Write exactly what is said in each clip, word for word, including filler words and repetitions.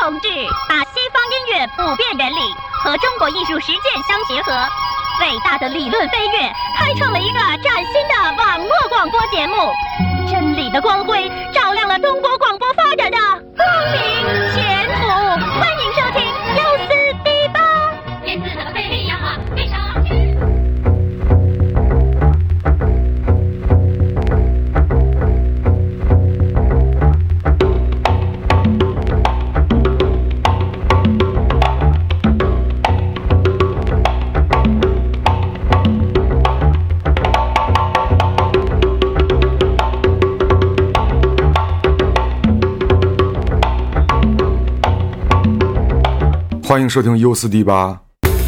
同志把西方音乐普遍原理和中国艺术实践相结合，伟大的理论飞跃开创了一个崭新的网络广播节目，真理的光辉照亮了中国广播发展的光明前途。欢迎收听优思迪吧。电子的费力氧化非常老去。 欢迎收听优思迪吧。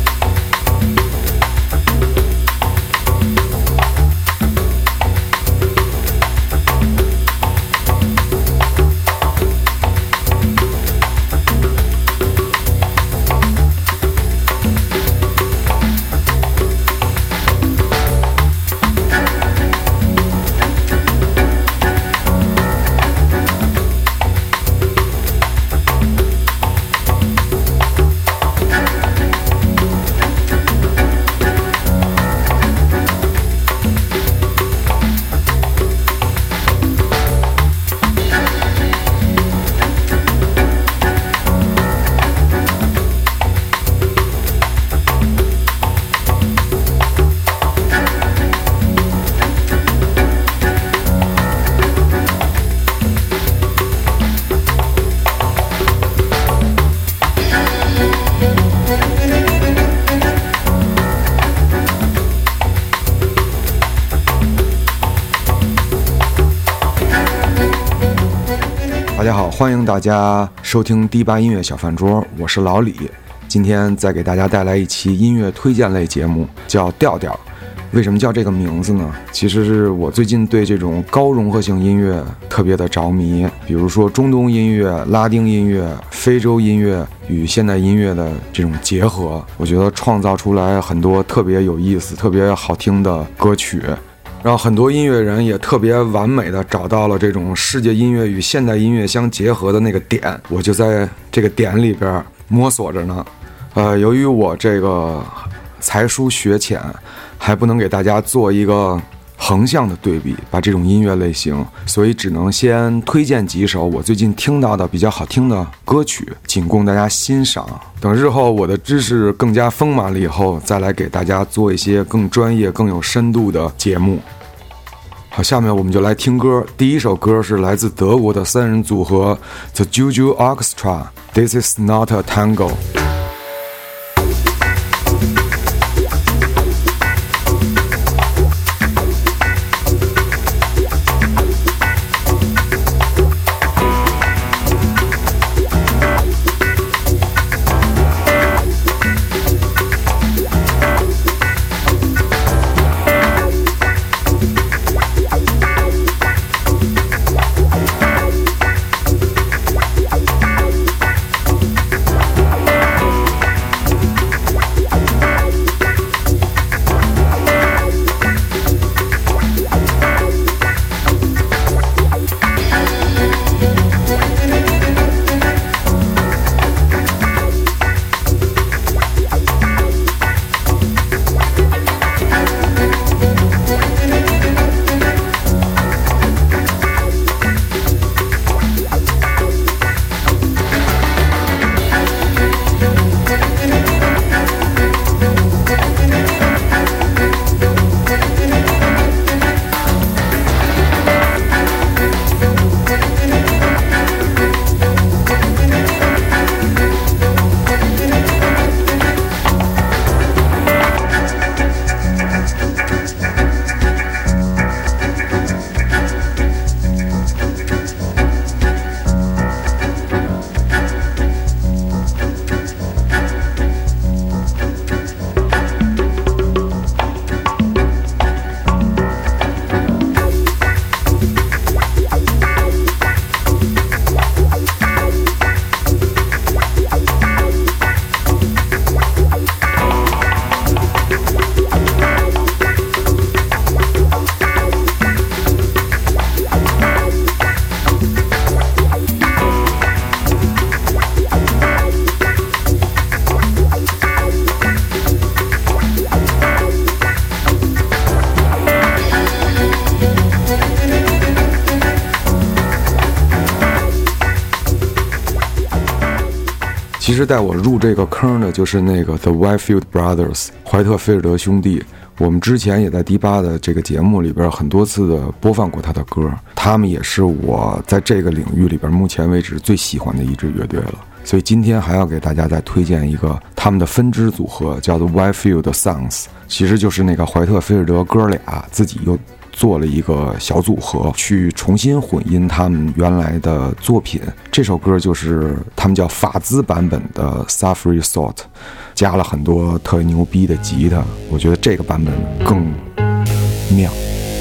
大家好，欢迎大家收听迪吧音乐小饭桌，我是老李。今天再给大家带来一期音乐推荐类节目，叫调调。为什么叫这个名字呢？其实是我最近对这种高融合性音乐特别的着迷，比如说中东音乐、拉丁音乐、非洲音乐与现代音乐的这种结合，我觉得创造出来很多特别有意思、特别好听的歌曲。然后很多音乐人也特别完美的找到了这种世界音乐与现代音乐相结合的那个点，我就在这个点里边摸索着呢。呃，由于我这个才疏学浅，还不能给大家做一个横向的对比，把这种音乐类型，所以只能先推荐几首我最近听到的比较好听的歌曲，仅供大家欣赏。等日后我的知识更加丰满了以后，再来给大家做一些更专业、更有深度的节目。好，下面我们就来听歌。第一首歌是来自德国的三人组合 The Juju Orchestra， This is not a tango。 其实带我入这个坑的就是那个 The Whitefield Brothers 怀特菲尔德兄弟。我们之前也在迪吧的这个节目里边很多次的播放过他的歌，他们也是我在这个领域里边目前为止最喜欢的一支乐队了。所以今天还要给大家再推荐一个他们的分支组合，叫做 Whitefield Sons， 其实就是那个怀特菲尔德哥俩自己又做了一个小组合，去重新混音他们原来的作品。这首歌就是他们叫法兹版本的 Suffering Salt， 加了很多特牛逼的吉他，我觉得这个版本更妙。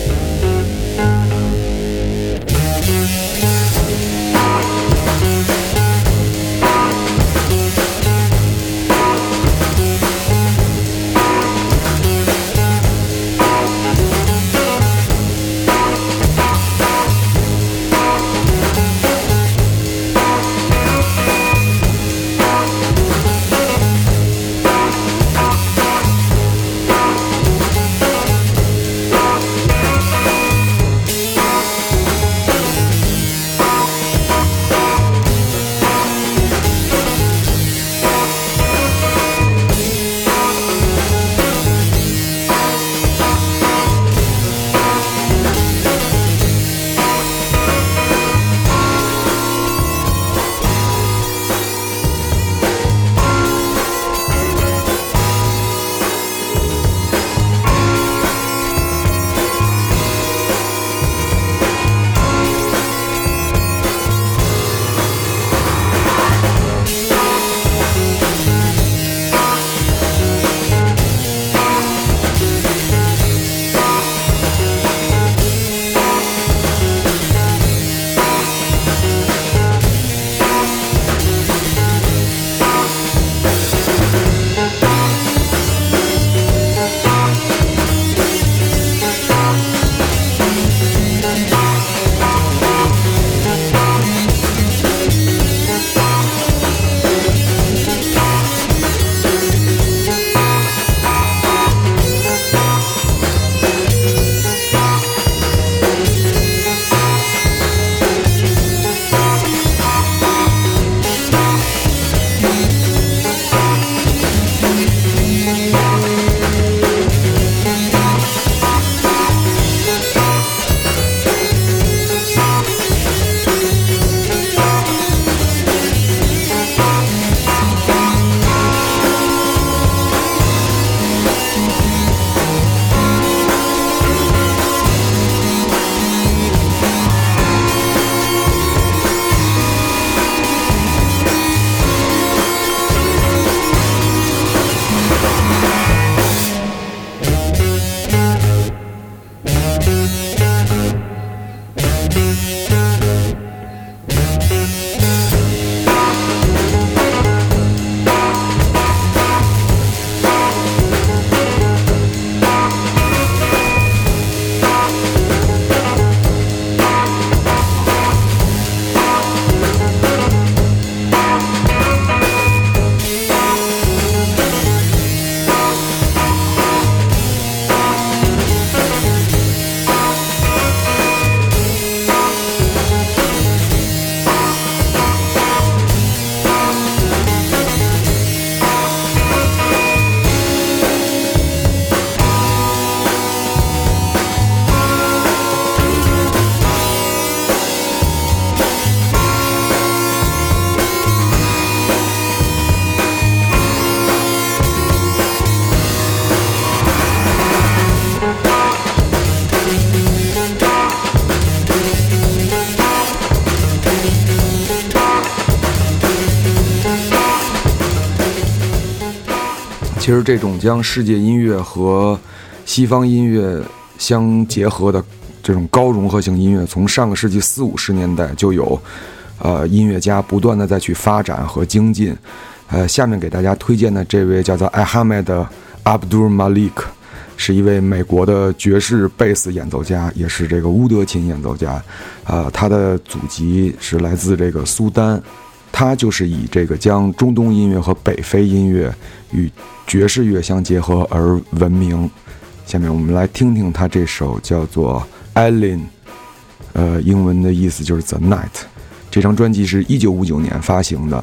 其实这种将世界音乐和西方音乐相结合的这种高融合性音乐，从上个世纪四五十年代就有呃音乐家不断的再去发展和精进。呃，下面给大家推荐的这位叫做 Ahmed Abdul Malik， 是一位美国的爵士贝斯演奏家，也是这个乌德琴演奏家。呃，他的祖籍是来自这个苏丹，他就是以这个将中东音乐和北非音乐与爵士乐相结合而闻名。下面我们来听听他这首叫做 Eileen， 呃，英文的意思就是 The Night。这张专辑是一九五九年发行的。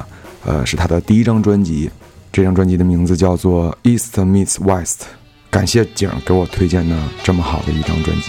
呃，是他的第一张专辑，这张专辑的名字叫做 East Meets West。感谢景给我推荐的这么好的一张专辑。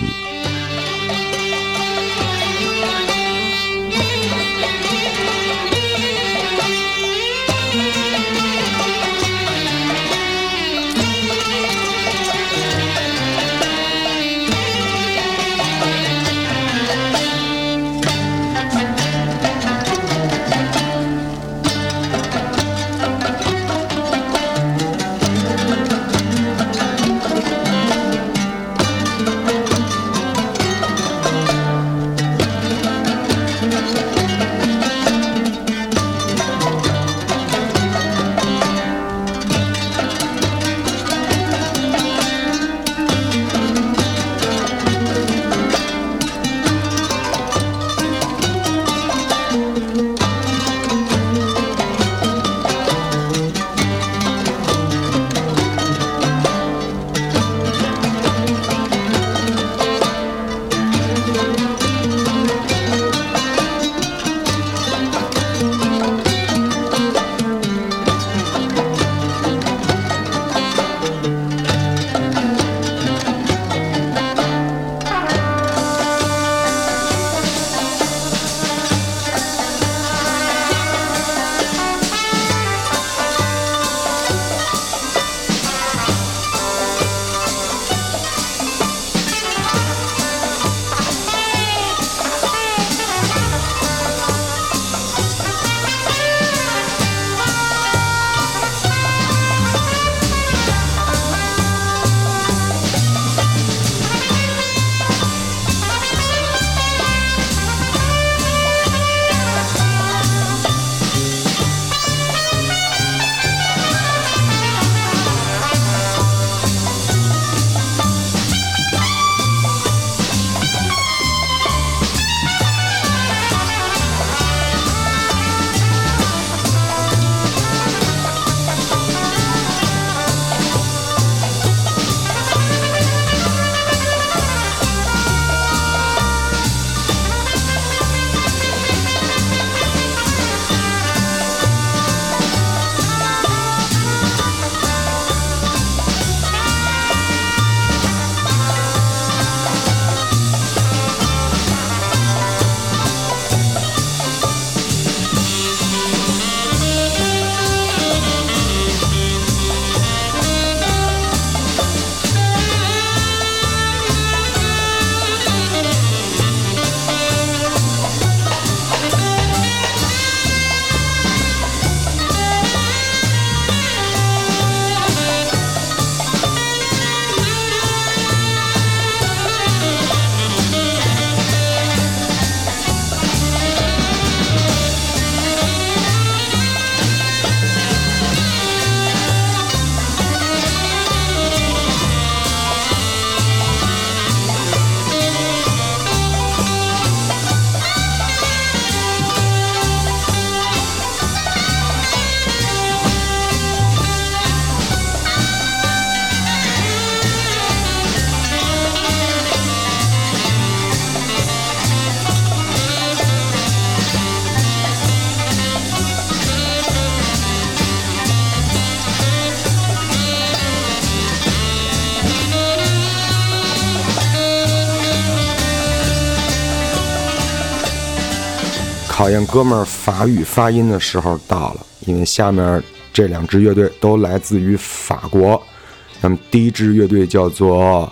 考验哥们儿法语发音的时候到了，因为下面这两支乐队都来自于法国。那么第一支乐队叫做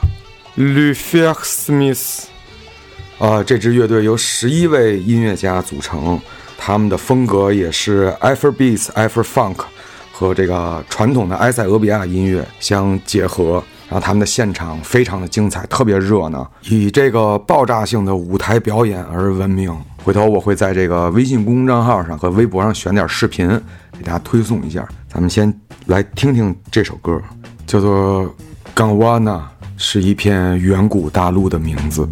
Le Fer Smith， 啊、呃，这支乐队由十一位音乐家组成，他们的风格也是 Afrobeats、Afro-Funk 和这个传统的埃塞俄比亚音乐相结合。然后他们的现场非常的精彩，特别热闹，以这个爆炸性的舞台表演而闻名。回头我会在这个微信公众账号上和微博上选点视频给大家推送一下。咱们先来听听这首歌，叫做 Gondwana， 是一片远古大陆的名字。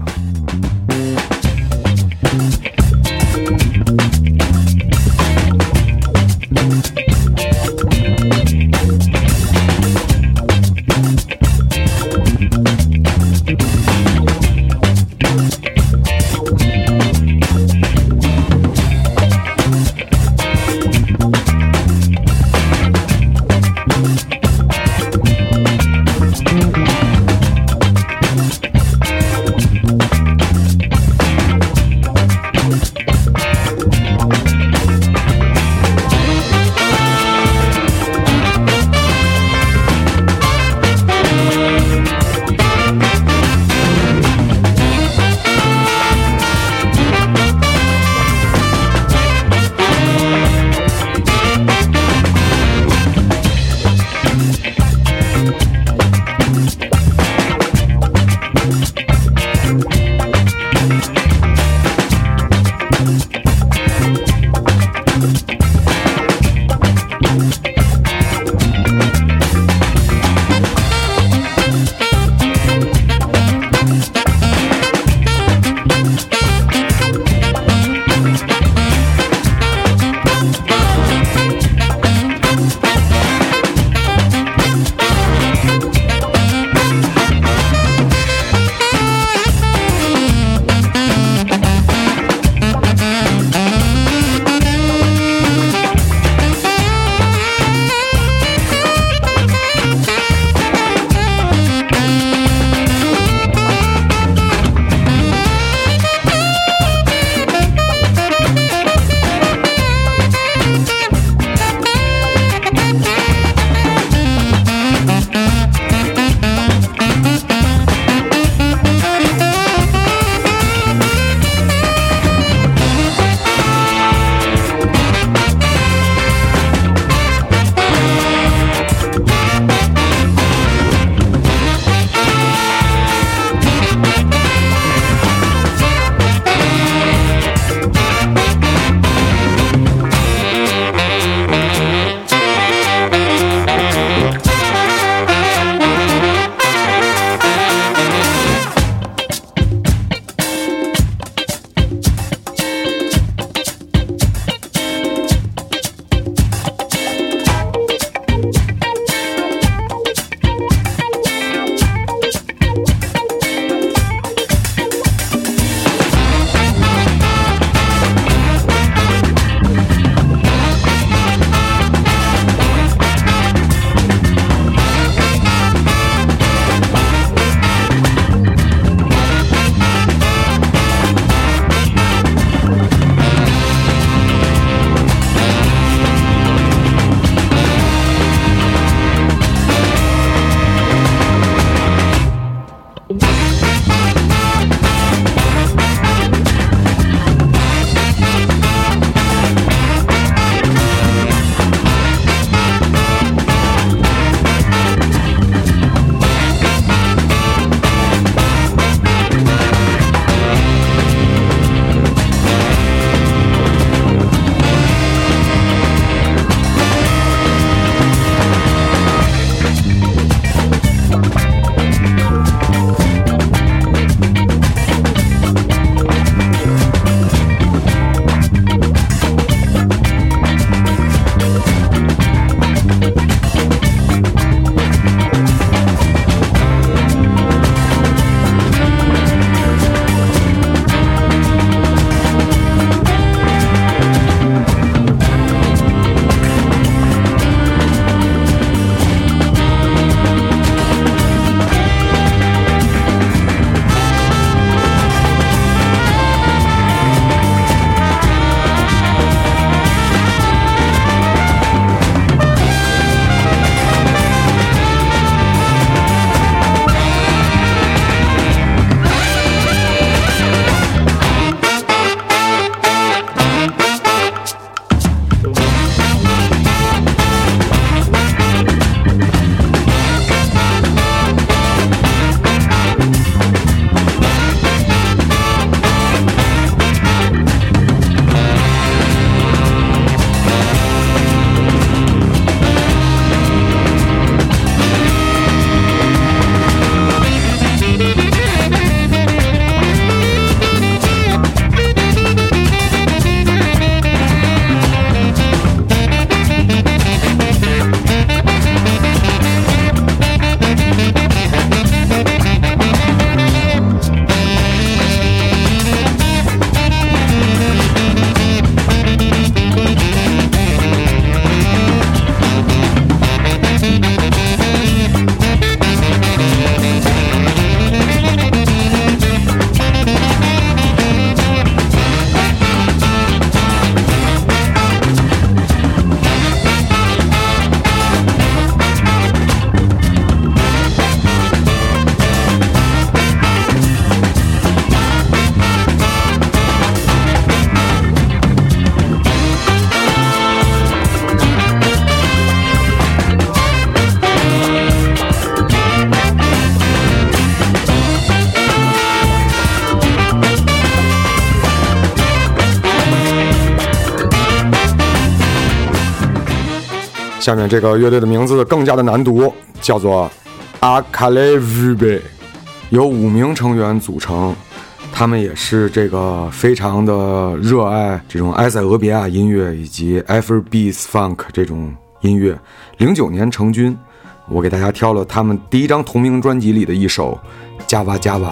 下面这个乐队的名字更加的难读，叫做阿卡雷维贝，由五名成员组成。他们也是这个非常的热爱这种埃塞俄比亚音乐以及 Afrobeats Funk 这种音乐。零九年成军，我给大家挑了他们第一张同名专辑里的一首《Java Java》。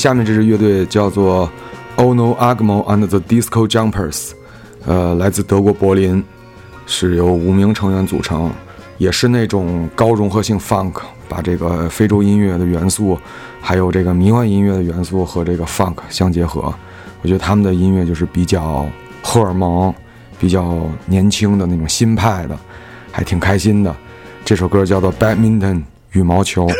下面这支乐队叫做 Ono Agmo and the Disco Jumpers， 呃，来自德国柏林，是由五名成员组成，也是那种高融合性 funk， 把这个非洲音乐的元素，还有这个迷幻音乐的元素和这个 funk 相结合。我觉得他们的音乐就是比较荷尔蒙，比较年轻的那种新派的，还挺开心的。这首歌叫做 Badminton 羽毛球。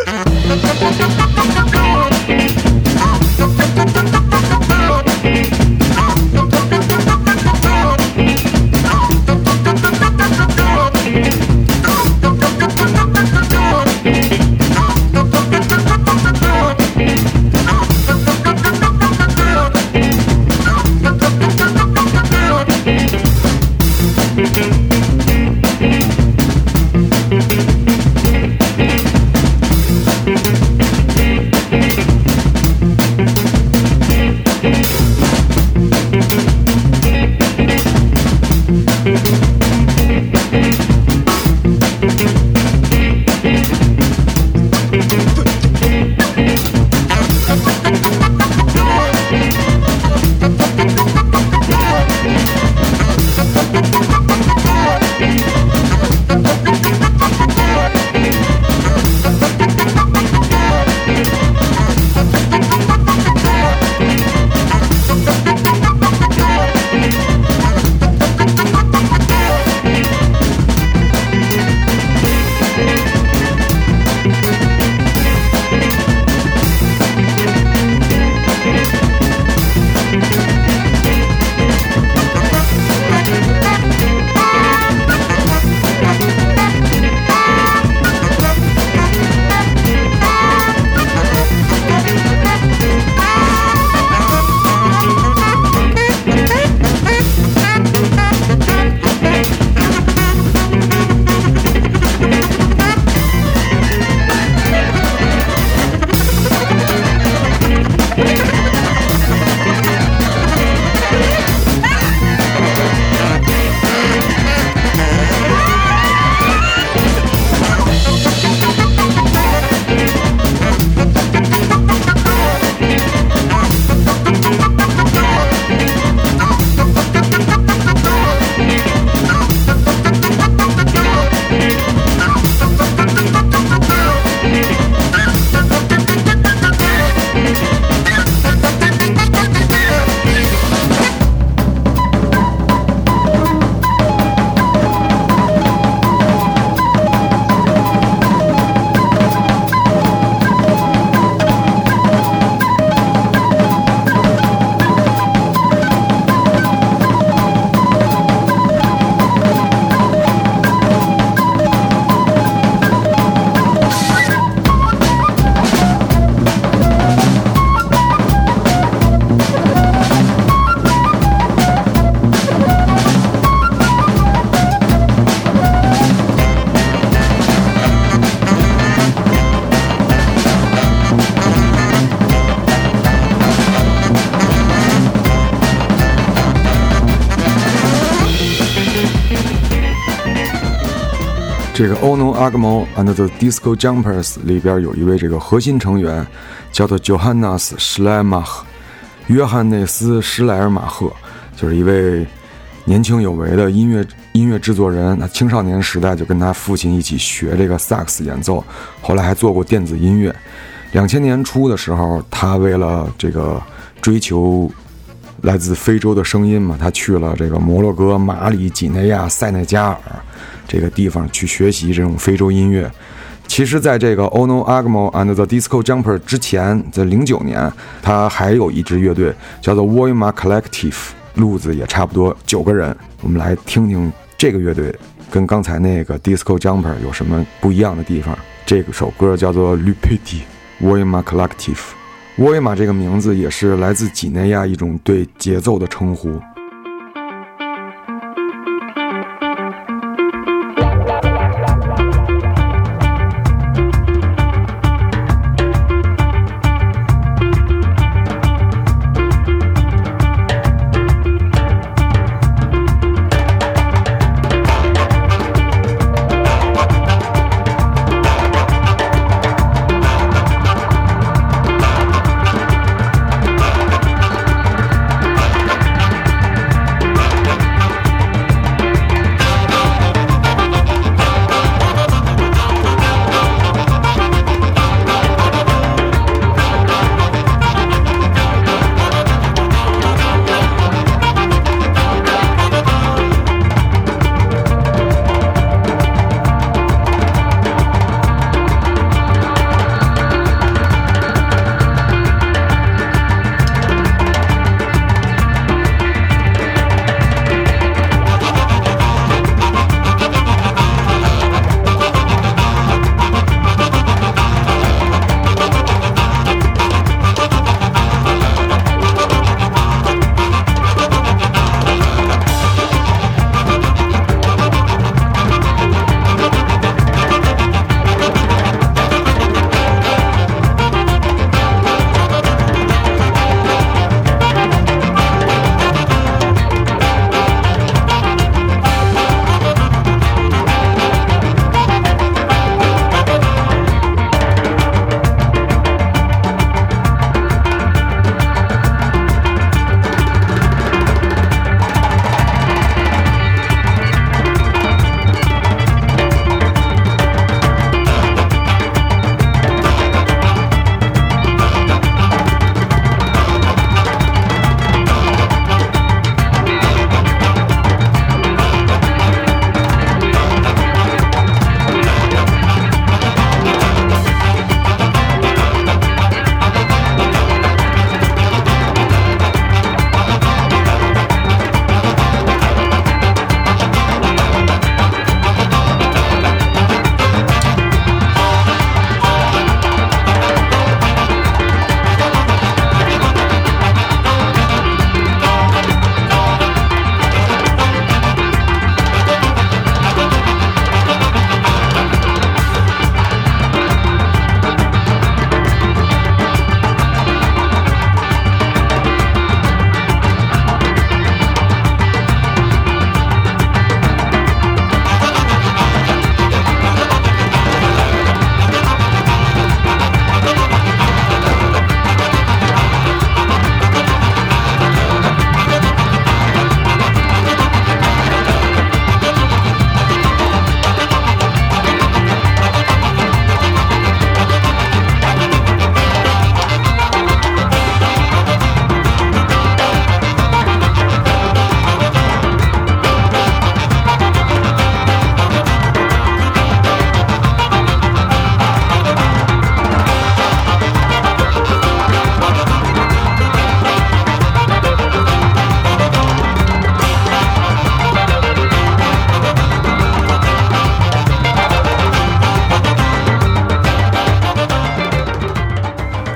这个 Ono Agmo and the Disco Jumpers 里边有一位这个核心成员叫做 Johannes Schleiermacher， 约翰内斯·施莱尔马赫，就是一位年轻有为的音乐音乐制作人。那青少年时代就跟他父亲一起学这个萨克斯演奏，后来还做过电子音乐。两千年初的时候，他为了这个追求来自非洲的声音嘛，他去了这个摩洛哥、马里、几内亚、塞内加尔这个地方去学习这种非洲音乐。其实在这个 Ono Agmo and the Disco Jumper 之前，在零九年他还有一支乐队叫做 Woima Collective， 路子也差不多九个人。我们来听听这个乐队跟刚才那个 Disco Jumper 有什么不一样的地方。这首歌叫做 Lupiti Woima Collective。 Woima 这个名字也是来自几内亚一种对节奏的称呼。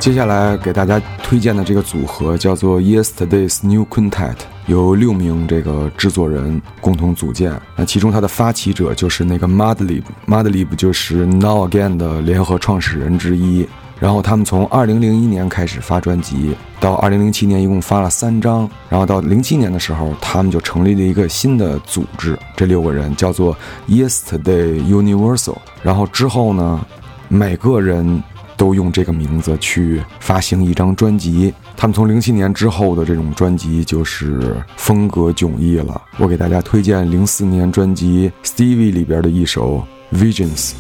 接下来给大家推荐的这个组合叫做 Yesterday's New Quintet， 由六名这个制作人共同组建。那其中他的发起者就是那个 Madlib，Madlib 就是 Now Again 的联合创始人之一。然后他们从二零零一年开始发专辑，到二零零七年一共发了三张，然后到零七年的时候，他们就成立了一个新的组织，这六个人叫做 Yesterday Universal。然后之后呢，每个人都用这个名字去发行一张专辑。他们从零七年之后的这种专辑就是风格迥异了。我给大家推荐零四年专辑 Stevie 里边的一首 Visions。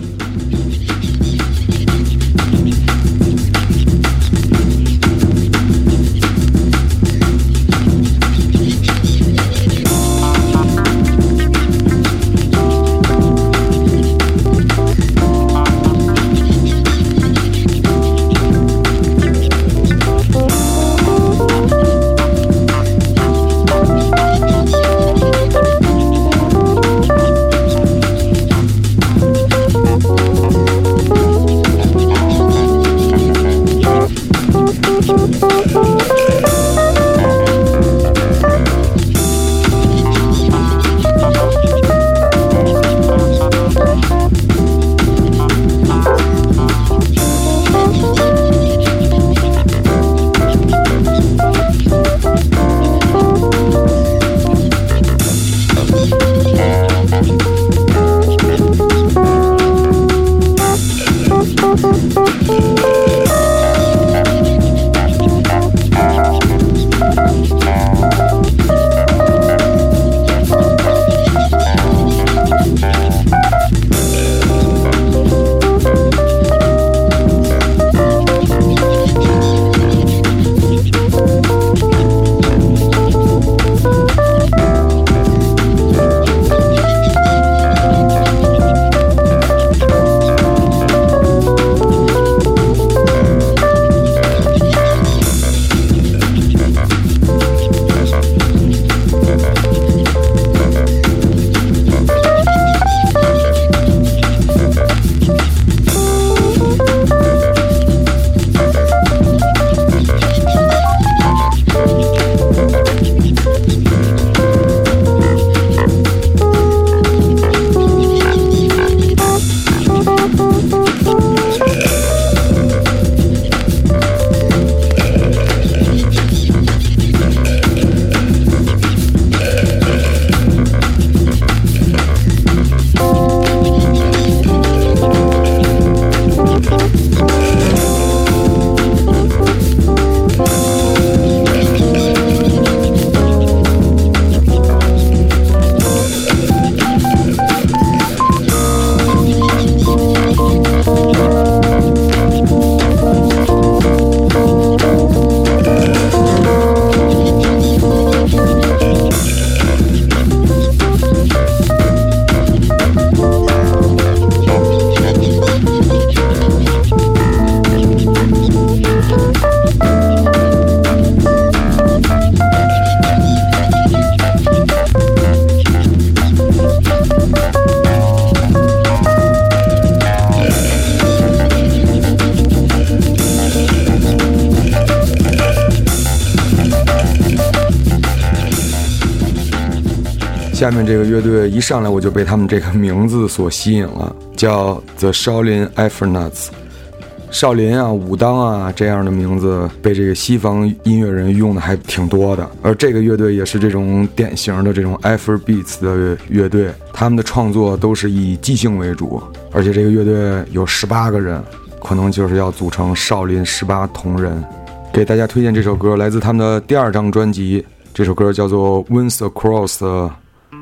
下面这个乐队一上来我就被他们这个名字所吸引了，叫 The Shaolin Afronauts。少林啊、武当啊这样的名字被这个西方音乐人用的还挺多的，而这个乐队也是这种典型的这种 Afrobeats 的乐队，他们的创作都是以即兴为主，而且这个乐队有十八个人，可能就是要组成少林十八铜人。给大家推荐这首歌，来自他们的第二张专辑，这首歌叫做 Winds Across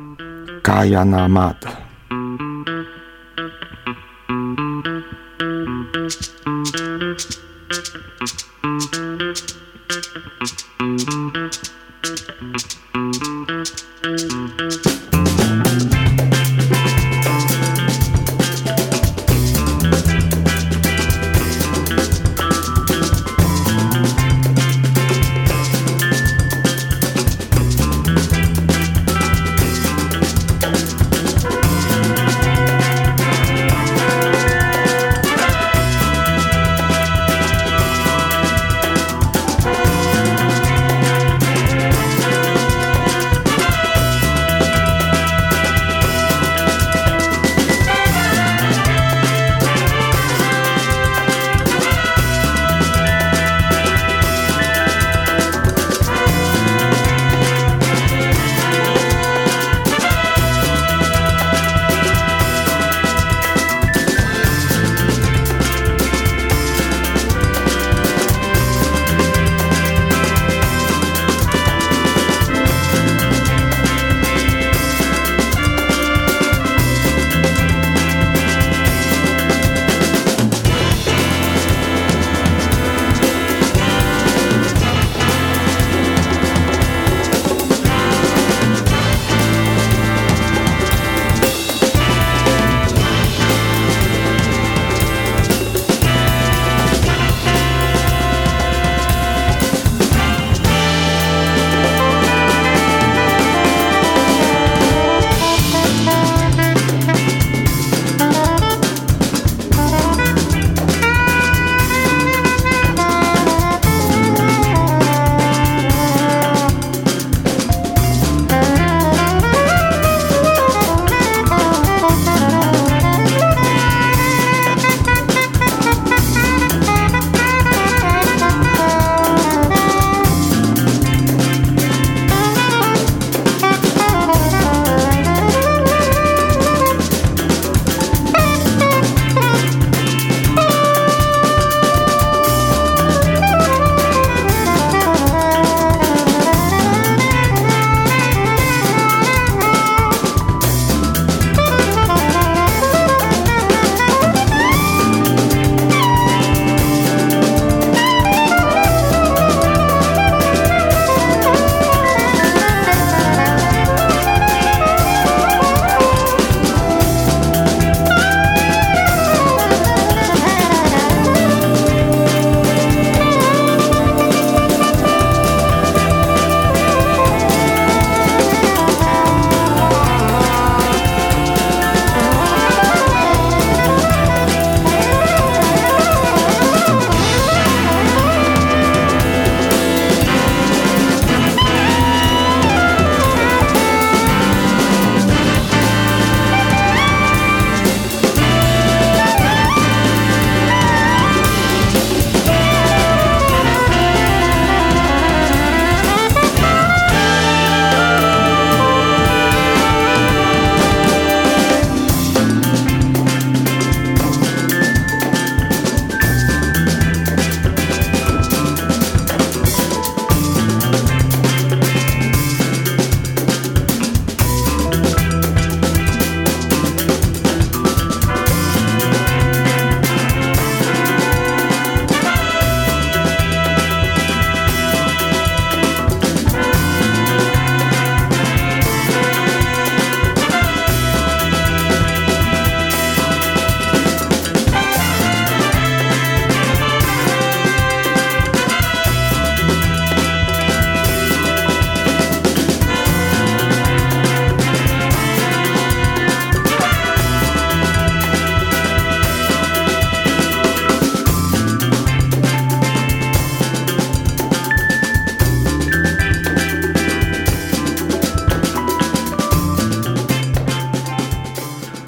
Guyana Mud。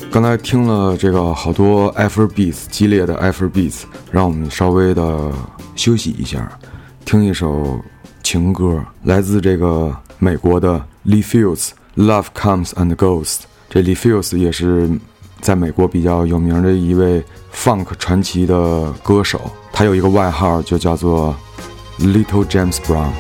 刚才听了这个好多 Afrobeats 激烈的 Afrobeats， 让我们稍微的休息一下，听一首情歌，来自这个美国的 Lee Fields Love Comes and Goes。 这 Lee Fields 也是在美国比较有名的一位 funk 传奇的歌手，他有一个外号就叫做 Little James Brown。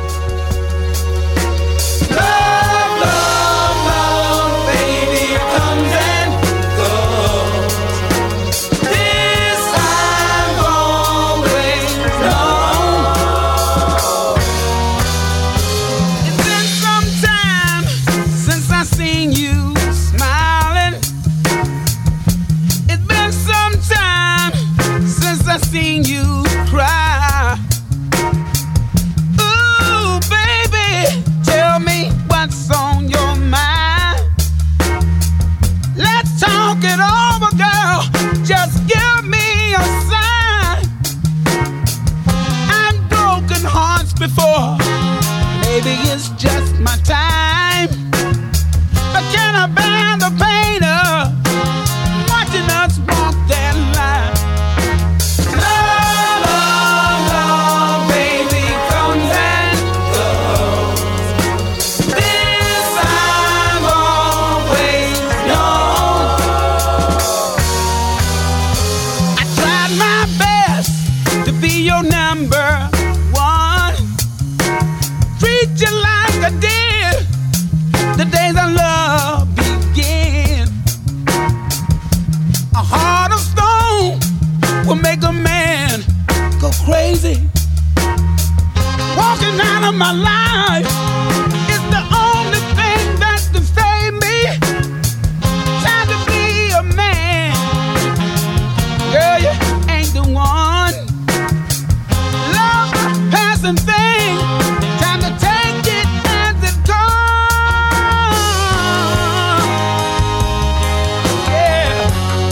My life is the only thing that can save me. Time to be a man, girl, you ain't the one. Love a passing thing, time to take it as it comes. Yeah.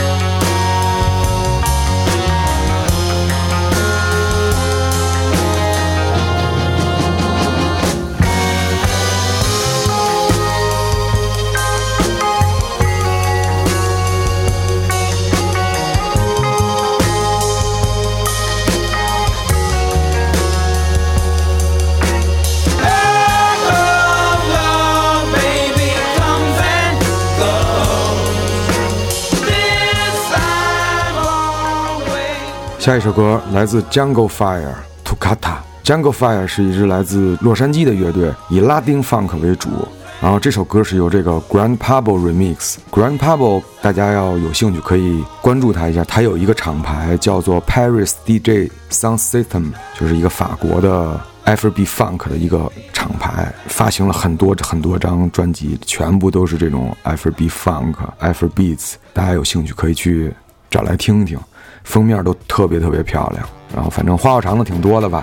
下一首歌来自 Jungle Fire Toccata。Jungle Fire 是一支来自洛杉矶的乐队，以拉丁 funk 为主。然后这首歌是由这个 Grand Pablo remix。Grand Pablo 大家要有兴趣可以关注他一下，他有一个厂牌叫做 Paris D J Sound System， 就是一个法国的 Afrobeat funk 的一个厂牌，发行了很多很多张专辑，全部都是这种 Afrobeat funk、Afrobeats， 大家有兴趣可以去找来听听。封面都特别特别漂亮，然后反正花花肠子挺多的吧。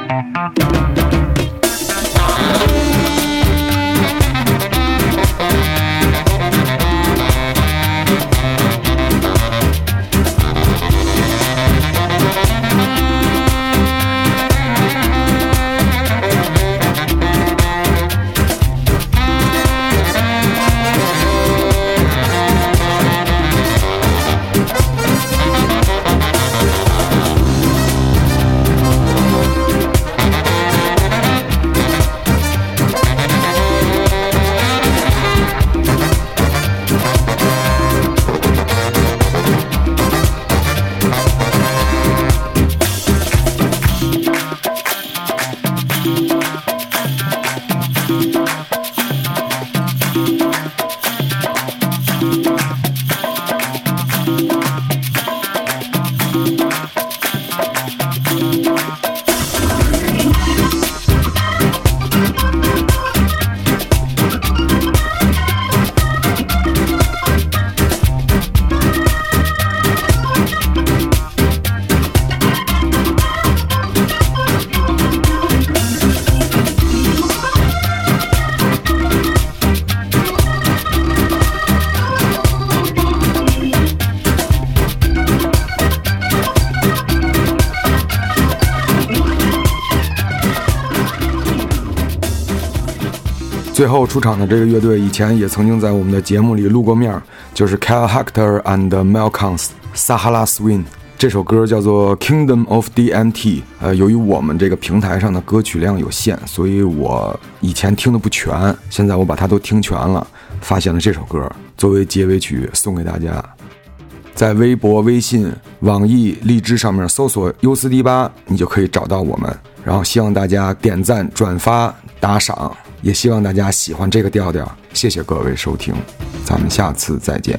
最后出场的这个乐队以前也曾经在我们的节目里露过面，就是 Kyle Hector and Malcolms Sahara Swing。 这首歌叫做 Kingdom of D M T。 呃，由于我们这个平台上的歌曲量有限，所以我以前听的不全，现在我把它都听全了，发现了这首歌作为结尾曲送给大家。在微博、微信、网易、荔枝上面搜索 U 四 D 八， 你就可以找到我们。然后希望大家点赞、转发、打赏，也希望大家喜欢这个调调。谢谢各位收听，咱们下次再见。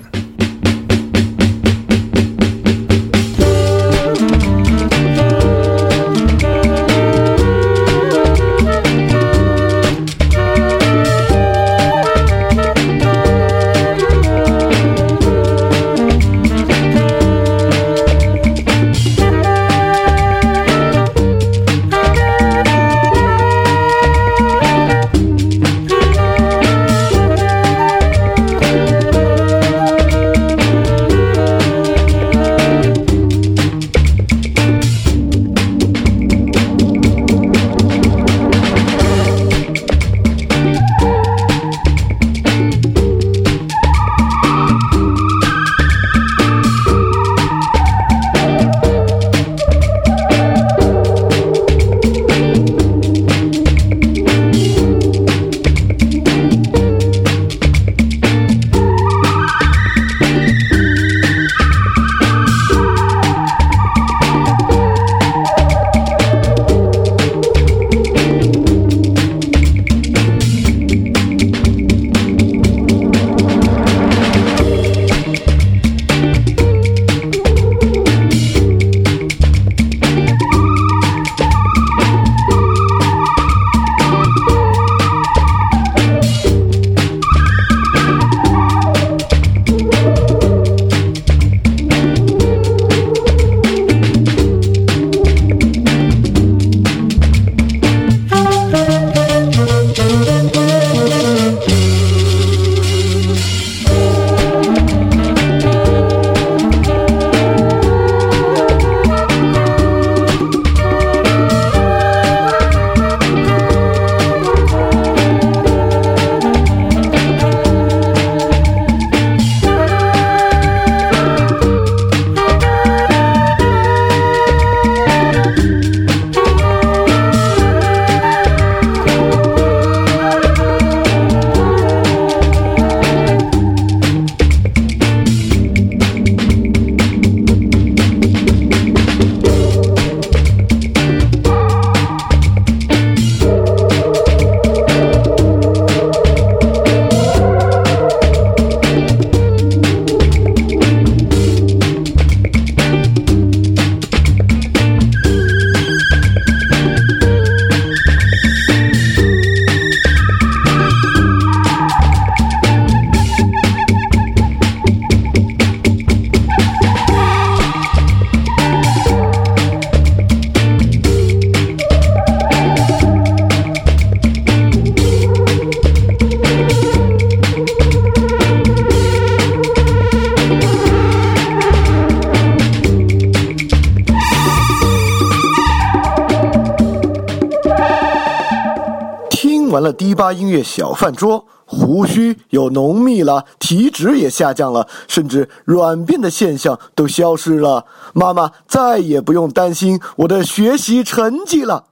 完了迪吧音乐小饭桌，胡须又浓密了，体脂也下降了，甚至软便的现象都消失了。妈妈再也不用担心我的学习成绩了。